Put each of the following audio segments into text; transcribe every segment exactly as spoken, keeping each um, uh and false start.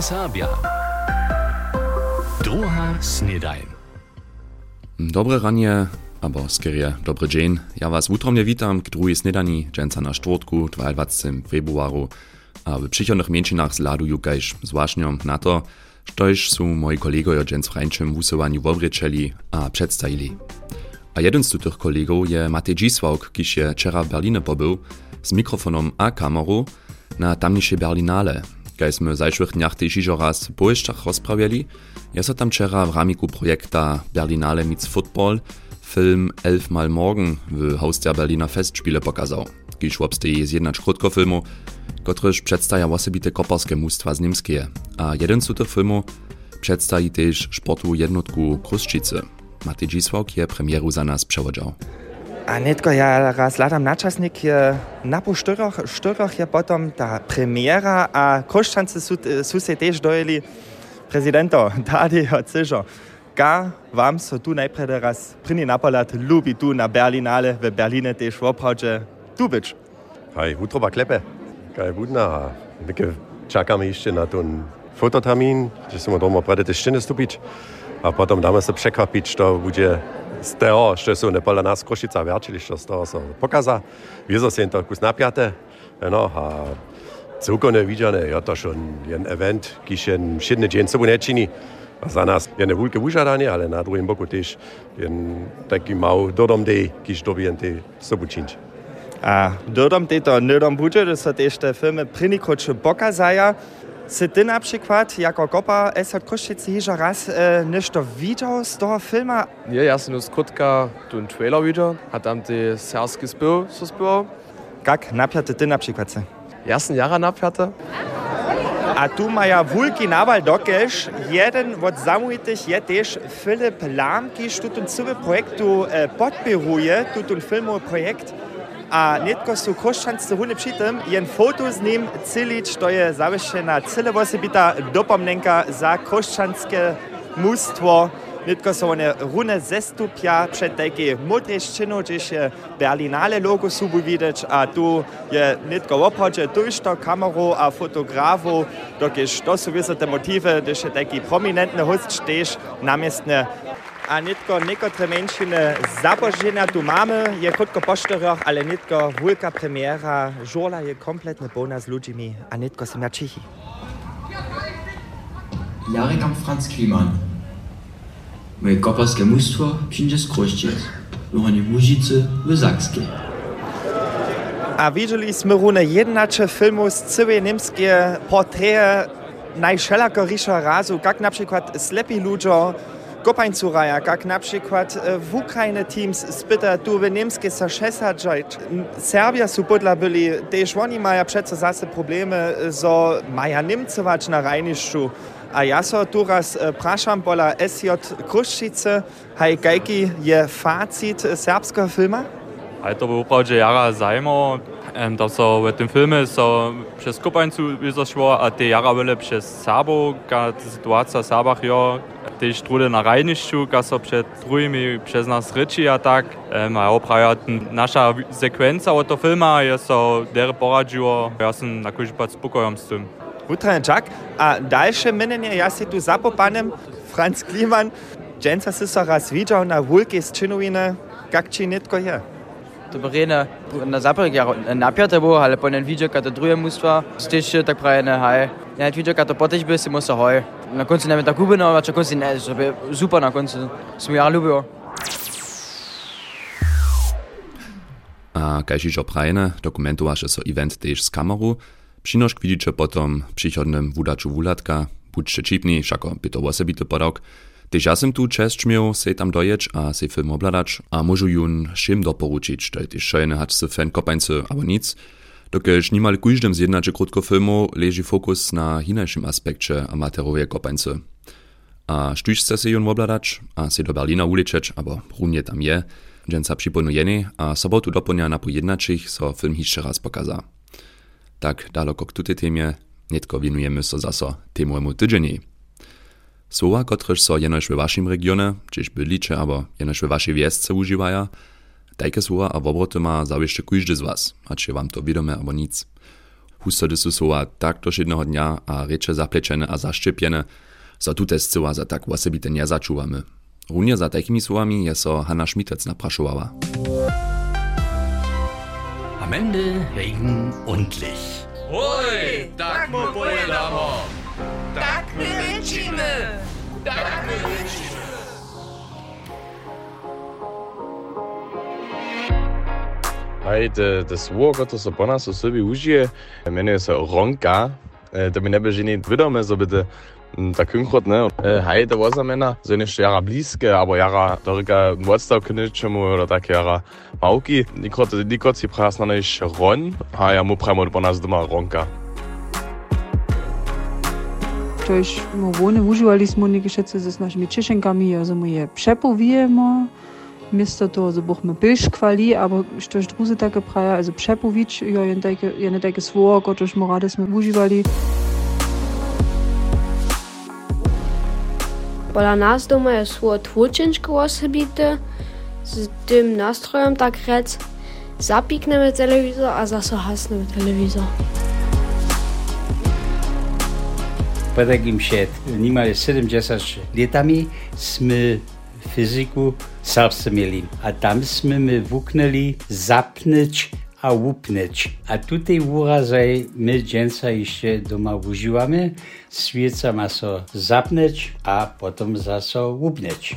Serbia. Druga snedajn. Dobre ranie, albo skierie dobry dzień. Ja was utromnie witam k drugiej snedani, dżęca na czwartku, dwudziestego februaru. A w przychodnych mięczynach zladuju kajż zwłaszczą na to, štož są moi kolegowie dżęc w rańczym wusowaniu wobryczeli a przedstawili. A jeden z tych kolegów je Matej Dzisławk, kiż je wczera w Berlinie pobył, z mikrofonem a kamerą na tamniejszej Berlinale. Kajśmy w zajszłych dniach też iżo raz po jeszcze rozprawiali, ja so tam wczera w ramiku projekta Berlinale meets Football film Elfmal Morgen w Haus der Berliner Festspiele pokazał. Kiż obsteje zjednać krótkofilmu, kotryż przedstawia osobite koparskie mustwa z Niemskie, a jeden z tych filmów przedstawi też sportu jednotku Kruszczycy. Matej Dzisławk je premieru za nas przewodział. A netko ja raz ladam naczasnik je na po štyrach, štyrach je potom ta premiera a Kruszczancy su, su se też dojeli prezidenta Tadeja Cyża. Ka wam so tu najpierw raz pryni napalat lubi tu na Berlinale w Berlinie też w obchodzie tu być. Hej, utroba klepe. Kaj budna, byke czekamy jeszcze na ten fototermin, że są doma prede te ściany stupić, a potem damy się przekapić, to będzie z tego, że są nepala nas Kruszczyca wierczyliście, z tego się pokaza. Wieso się to kus napiate, no, a całkowicie widziane, ja to schon jeden event, kiż jeden szydny dzień sobą nie czyni. Za nas jedne wielkie wyżadanie, ale na drugim boku też jeden taki mały dodom dej, kiż dobien te sobą czynić. A dodom tej to nydom bude, to są też te filmy prynikrocze pokazaja. Si ty na przykład jako kopa es od Kruszczycy hižo raz e, nešto widział z toho filma? Nie, ja sam z krótka ten trailer widział, a tam te serbski spiew so spiewał. Jak napiate ty na przykład se? Ja sam jara napiate. A tu maja wulki nawal dokež, jeden od zamówitych je też Filip Lahm, kiż tutun cały projektu e, podpiruje, tutun filmowy projekt. A netko su Kruszczancy hune przy tym, jen foto z nim cylić, to je zawieszena cyle osobita dopomnenka za kruszczanskie mustwo. Netko su one rune zestupia przed takie modre szczynu, gdzieś je Berlinale logo subu widać, a tu je netko w obchodzie tuż to kamerą a fotografu, dokiż to su wiese te motywy, gdyż je taki prominentny host też namiestne. A netko niekotre menšiny zaboženia tu mamy, je krótko po štyrach, ale netko wielka premiera, żola je kompletnie pełna z ludźmi, a netko są ja Čechi. Jarek Franz Kliman. Moje koparskie mustwo przyjdzie z Kruszczyc, wychanie w Łužicy w Sakskiej. A widzieliśmy rune jednacze filmu z całej niemskie portreje najszelakorisza razu, jak na przykład slepi ludzie, Kopańcuraja, jak na przykład w Ukrainie teams spyta tu w niemskie so šesťdesiat. Serbia su podla byli, też oni mają przecież zase problemy, so mają Niemcować na rajniszczu. A ja so tu raz praszam pola S J Kruszczycy, hej, jaki je facit serbskiego filma? Ale to był uprawdzie jara zajmo, to so w tym filmie so przez Kopańcu wyzaszło, a te jara były przez Serbo, ta sytuacja w Serbach jo, też trudy na rajniszczu, ka so przed drugimi przez nas ryczy, a tak. A opraja nasza sekwencja od tego filma je so dere poradziło, ja sam na kuźbać spokojom z tym. Utrenčak, a dalsze minnenie, ja si tu zapopanem, Franz Kliman, dżęca si so raz widział na wulkie sčinowine, jak ci netko je? To berene na zaprek ja napiate było, ale po nen widział, kad to drugie mustwa, też tak prawie hej. Ja nie widział, kad to potem by si musel hoj. Na końcu nawet tak gubno, a na końcu nie, żeby super na końcu. Smo ja lubił. A kajž ižo prajene, dokumentowaše so event też z kamerą. Přinošk widzicie potom w przychodnym wudaču wulatka, budźcie čipni, šako by to osobity podok. Tež ja sem tu čest miał se tam dojeć a se film obladać, a môžu jun všim doporučić, to je tež šajne hać se fan Kopańcy, abo nic. Dokež nimal kujždym z jednače krótkofilmu leży fokus na hinajšim aspekcie amaterowie Kopańcy. A štuž se jun obladać, a se do Berlina uličeć, abo runje tam je, dżęca przypomnujeny, a sobotu doplnia na pojednačich so film hišće raz pokaza. Tak daleko k tutej temie, netko winujemy so zaso temujemu tydzieni. Słowa, kotrež so jenož we waszym regionie, čiž bydlicze, abo jenož we waszej wiesce używaja, tajke słowa a wobroty ma zawieszcze kujždy z was, hač je wam to widome abo nic. Husto dysu soła tak do jednego dnia a reče zaplečene a zaščepjene, so tute scyła za tak osobite nie začuvamy. Runje za takimi słowami je so Hanna Schmitec naprašovala. Am Ende Regen und Licht. Hoj, tak mu pojedamo. Tak my rečíme. Tak my rečíme. Hej, to słowo, które się po nas sobie użyje, mianuje się ronka. To mi nie będzie nic wiadome, żeby to tak konkret, ne? Hej, to znamená, że nie jara bliskie, albo jara dorika odstaw k ničemu, oder tak jara małki. Nikot si prasna než ron, a ja mu pramo po nas doma ronka. Tož mu vone užívali smo neke šece s našimi češenkami, also mu je přepovijemo. Misto to, so buchme Bisch kvali, aber štož druze take praja, also přepovič, jo, jen take, jen take svoje, kotož morade smo užívali. Pola nas doma je svoje tvočenčko osobite, z tym nastrojem tak rec, zapikneme telewizor, a zase hasneme telewizor. Po takim przed niemal siedemdziesięcioma latami sme fizyku serbsce mieli, a tam sme my wuknęli zapnyć a łupnyć. A tutaj urazaj my dżęca jeszcze doma używamy, świeca ma so zapnyć, a potem zaso łupnyć.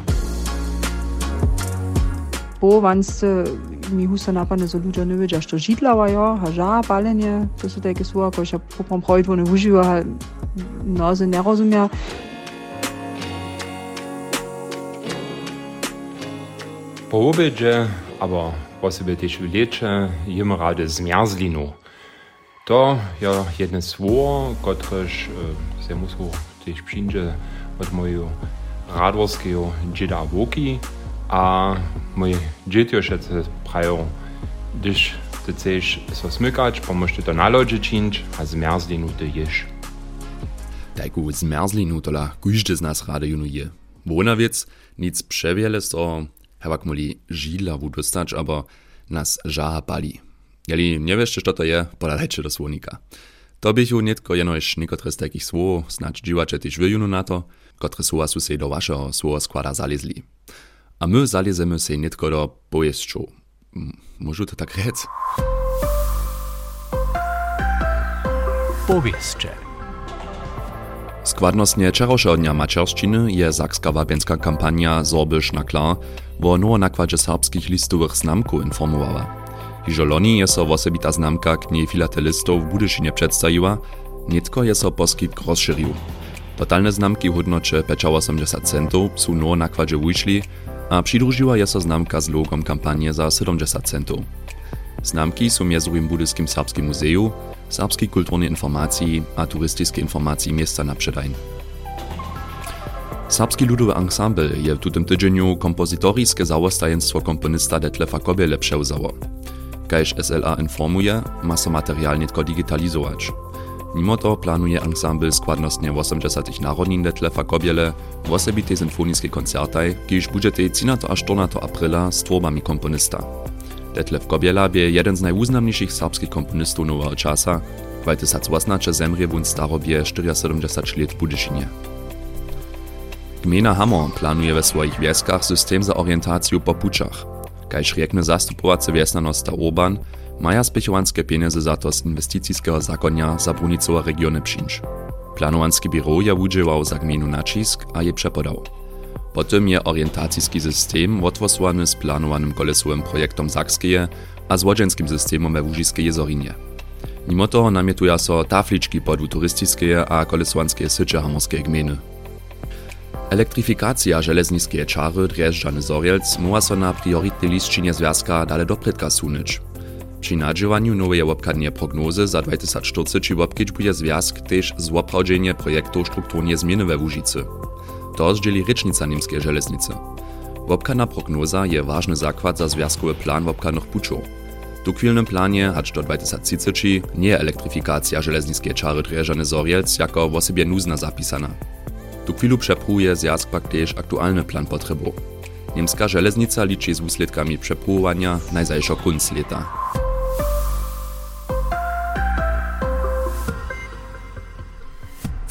Po vansce mi husa napadne, so ludzie nie wiedział, że żidlawa, jo, haża, palenie, to są takie słowa, które się poprom projekt nie używa, no, że nie rozumie. Po obiedzie, aber posebej też w lecie, jemy rady zmierzlinu. To jest jedno słowo, któreż e, się muszę też przyjść od mojego radworskiego dzieda Woki, a moje dzieci jeszcze prają, gdyż ty chcesz so smykać, pomożesz to na lodzie czynić, a zmierzlinu ty jesz. Taku zmierzlinu tola każdy z nas rady junuje. Wonawiec nic przewiele so Hewak moli żidlawu dostać, aber nas żaha pali. Jeli nie wiesz, co to je, podalejcie do słonika. To bychu nitko jenoś niekotre z takich słów, snacz dziwacze też wyjunu na to, kotre słowa su se do waszego słowa składa zalezli. A my zalezemy se nitko do pojeszczu. Może to tak rec? Powieszcze. Składnostnie wczorajszego dnia mačerščiny je sakska wabienska kampania Sorbisch na klar, wo nowo nakładzie serbskich listowych znamków informowała. Hižo loni je so osobita znamka knihy filatelistów w Budyšinie przedstawiła, nitko je so poskitk rozširił. Totalne znamki w hodnocie osiemdziesiąt centów su nowo nakładzie wyszli, a przydružiła je so znamka z logom kampanie za siedemdziesiąt centów. Znamki są miezujem Budyskim Serbskim Muzeju, serbskiej kulturnej informacji a turystycznej informacji miasta na przedajn. Serbski ludowy ensemble je w tym tydzieniu kompozytorskie zawostajenstwo komponista Detlefa Kobiele przewzało. Kajż S L A informuje, ma so materiał nitko digitalizować. Mimo to planuje ensemble składnostnie osiemdziesiątych narodnin Detlefa Kobiele w osobitej symfonickiej koncertaj, kiedyś będzie trzynasto aż czternastego aprila z tworbami komponista. Detlef Kobiela bie jeden z najwuznamniejszych serbskich komponistów nowego czasa, weil tysiąc osiemset zemrje wun starobie siedemdziesiąt cztery lat w Budyšinie. Gmina Hammer planuje we swoich wieskach system za orientację po puczach. Kajż riekne zastupowace wiesnanost Urban, maja spěchowanske pieniądze za to z inwestycijskiego zakonia za brunicowe regiony przyjść. Planowanski biro je wudźewał za gminu nacisk a je przepodał. Potem je orientacijski system odwosłany z planowanym kolesowym projektom Sakskeje a z wodzenskim systemem we Łužiskiej Jezorinie. Mimo toho namietuja so tafliczki podłu turystycznej a kolesovanskiej sycze hamorskiej gminy. Elektrifikacja železniskiej czary Drježdžany Zorielc muła so na prioritnej listčinie związka dale dopredka sunić. Przy nadziewaniu nowej łopkadnie prognozy za dwa tysiące czterdzieści łopkieć będzie związk też z oprawdzenie projektu strukturnie zmiany we Łužicy. To zdzieli rycznica niemskiej żeleznicy. Łopkadna prognoza je ważny zakład za związkowy plan łopkadnych puczów. W chwilnym planie, aż do dwa tysiące trzydziestego, nie je elektryfikacja żelezniskiej czary Drježdžany Zorielc jako w osobie nuzna zapisana. Tu chwilu przepłuje zjazd pak też aktualny plan potrzebów. Niemska żeleznica liczy z usledkami przepływania najzajszego kunc lata.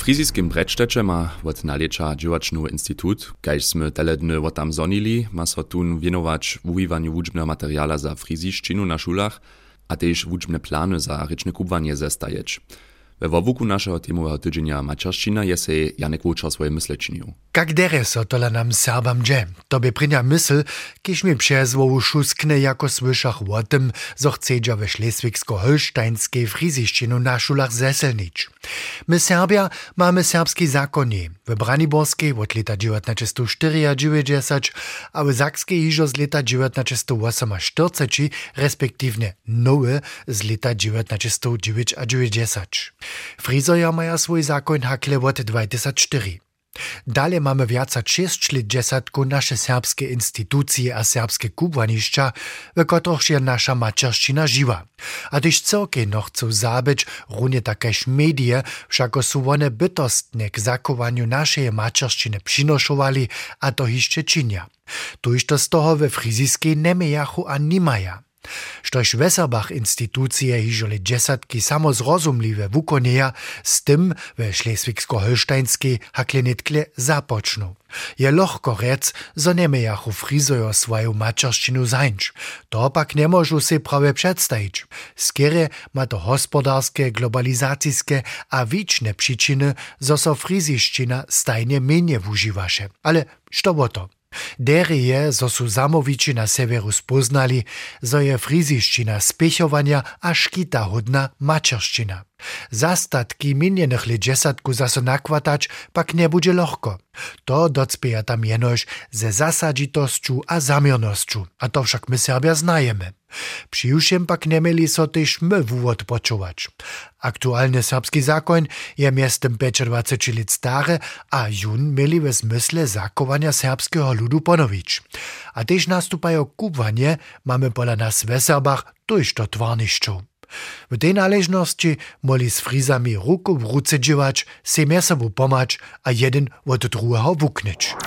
Friziskim Bredštecie ma od naleča dźěłačny institut, kaž sme tele dny od tam zonili, ma so tun wienować wujiwaniu wučbneho materiala za friziščinu na šulach, a tež wučbne plany za rečne kubwanie zestajeć. We wowuku naszego temowego tydzienia Mačerščina je se Janek Wočer swoje mysle činil. Kak dere so tola nam Serbam dže? To by prinja mysl, kiž mi přez vovu šuskne jako słyšach o tym, zo chcedža ve Šleswigsko-Holsteinskiej friziščinu na šulach zeselnič. My Serbia mamy serbski zakonie. W Braniborskiej od leta dziewiętnaście dziewięćdziesiąt a w Sakskiej hižo z leta dziewiętnaście czterdzieści, respektywnie nowe z leta dziewiętnaście dziewięćdziesiąt. Frizoja maja swój zakon hakle od dwa tysiące cztery. Dalej mamy wiaca sześć lat dziesiątku nasze serbskie instytucje a serbskie kubłaniszcza, w których je nasza mačerščina žiwa. A też cyrkie no chcą zabyć, runie takeż medie, wszako su one bytostne k zakowaniu naszej mačerščiny przynoszowali, a to jeszcze czynia. Tuż to z toho we friziskiej nemejachu a nimaja. Štož Weserbach instytucje hižole dziesiątki samozrozumliwe wukonieja, z tym we Šleswigsko-Holsteinskiej haklenetkle zapoczną. Je lohko rec, zo nemejachu frizojo swoją mačerščinu zańcz. To pak nie możu se prawie przedstawić. Skiery ma to hospodarskie, globalizacijskie a wiczne przyczyny, zo so friziščina stajnie mniej wužiwaše. Ale što bo to? Dere je, zo su zamowici na severu spoznali, zo je friziščina spěchovania a škita hodna mačerščina. Zastatki minjenych let dziesiątku zaso nakładać pak nie będzie lohko. To docpieja tam jenož ze zasadzitosću a zamiernosću, a to však my Serbia znajemy. Přijušem pak nemeli so tež my wówod počować. Aktualny serbski zakon je miestem dwadzieścia pięć let stare, a jun mieli we zmysle zakowania serbskiego ludu ponowić. A tež nastupajo kubwanie mamy pola nas w Serbach tuż to twarnišću. W tej należności moli z frizami ruku w ruce dziewać, se miesobu pomać, a jeden od drugiego wuknyć.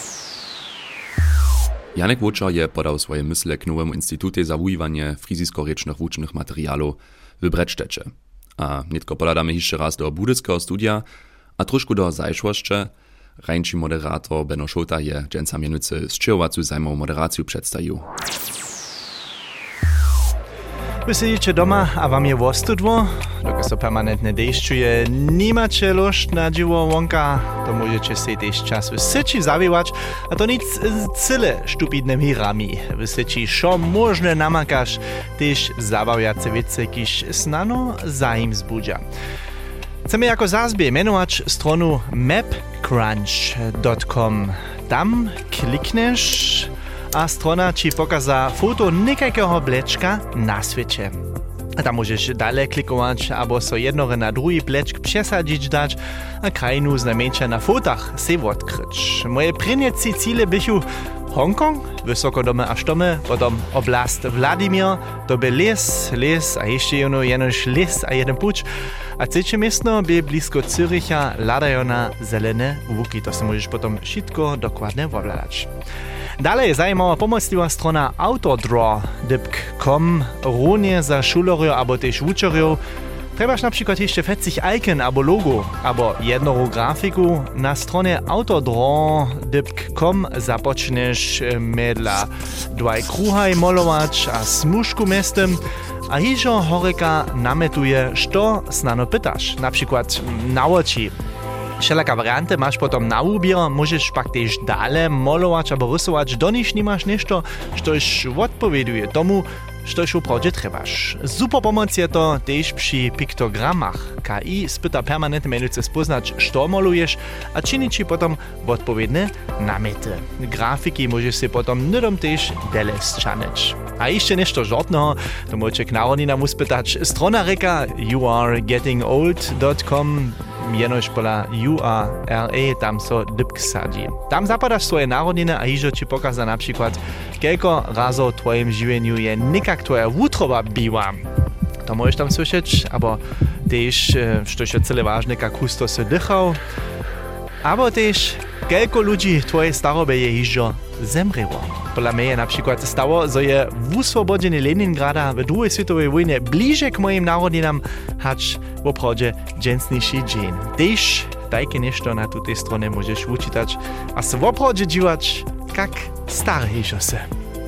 Janek Wočer je podał swoje mysle k nowemu instytucie za wujiwanie frizisko-rečnych wučbnych materialów w Bredštecie. A nitko podadamy jeszcze raz do budyckiego studia, a troszkę do zajszłoszcze. Rańczy moderator Benno Šolta je dżęca mienicy zczyłowacu zajmową moderację przedstawił. Wy siedzicie doma, a wam je wostudło, dokud so permanentne dešćuje, nimacie lošt na dziwo wonka, to możecie se też czas w syci zawiewać, a to nic cyle stupidnymi rami. W syci šo możne namakasz, też zabawiace wiece, kiż snano zaim zbudzia. Chcemy jako zazbie menować stronu map crunch dot com. Tam klikneš a strona ci pokaza foto nekakého blečka na svete. A tam możesz dalej klikować, albo so jednore na drugi blečk przesadzić dać, a krajinu znamieńcza na fotach se odkryć. Moje prynjeci cíle bychu Hongkong, wysokodome aż domy, potom oblast Vladimir, to by les, les, a jeszcze jedno jenož les a jeden puč, a trzecie miasto by blisko Züricha ladają na zelene łuki, to se możesz potom wszystko dokładnie obladać. Dalej zajmowa pomocliwa strona autodraw kropka com, runie za šulerjo albo też wučerjo. Trebaš na przykład jeszcze fetzig icon albo logo, albo jedną grafiku. Na stronie autodraw kropka com započneš medla dwaj kruhaj malować a smuszku miestem, a hižo horeka nametuje, što snano pytasz, na przykład na oči. Wszelaka warianty masz potom na ubier, możesz pak też dalej malować albo rysować, do nich nie masz nešto, štož odpowieduje tomu, štož uprawdzie trebaš. Super pomoc je to też przy piktogramach. K I spyta permanentnie menujce spoznać, što malujesz, a czyni ci potom odpowiednie namety. Grafiki możesz się potom nudom też dele zczanyć. A jeszcze nešto żartnego, to możecie k narodninam uspytać. Strona reka you are getting old dot com, jenož pola U A R E, tam so dypk sadzi. Tam zapadasz swoje narodniny a hižo ci pokaza na przykład, kelko razo w twoim żywieniu je nikak twoja wutroba biła. To możesz tam słyszeć, albo też, što je cele ważne, jak husto se dychał, albo też, kelko ludzi w twojej starobie je hižo zemrelo. Pola mnie na przykład stało, że je wuswobodzenie Leningrada w drugiej światowej wojnie bliżej k moim narodninam, hacz w oprawdzie dżęsniejszy dzień. Też tajke nešto na tej stronie możesz uczytać, a se w obchodzie dziwać, jak stare hiżo se.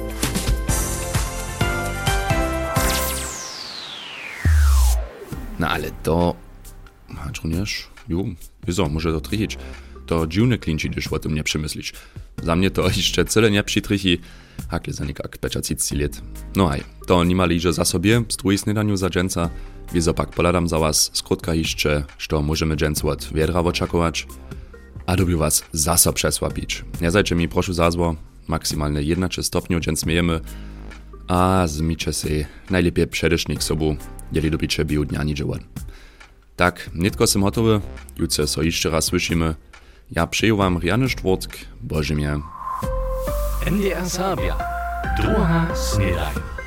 No ale to... Masz jo, wieso, może to trichić. To dziwne klinci, gdyż o tym nie przemyślisz. Za mnie to jeszcze cyle nie przytrichi, hakle za nikak peczacici lat. No haj, to nie mali iże za sobie, z drugiej snedaniu za dżęca, wieso pak poladam za was, skrótka jeszcze, što możemy dżęcu od wiedra oczakować, a dobił was zasa przesłapić. Nie zajcie mi proszę zazwo, maksymalne jedenaście stopniu dżęc miejemy, a zmicie się najlepiej przedesznik sobu, jeli dobicie biu dnia nie dziełan. Tak, nitko sem hotowy, jutce so jeszcze raz słyszymy. Ja przyjął wam Riany Sztwórtk, Boże mnie. N D R Sabia, druga snedaj.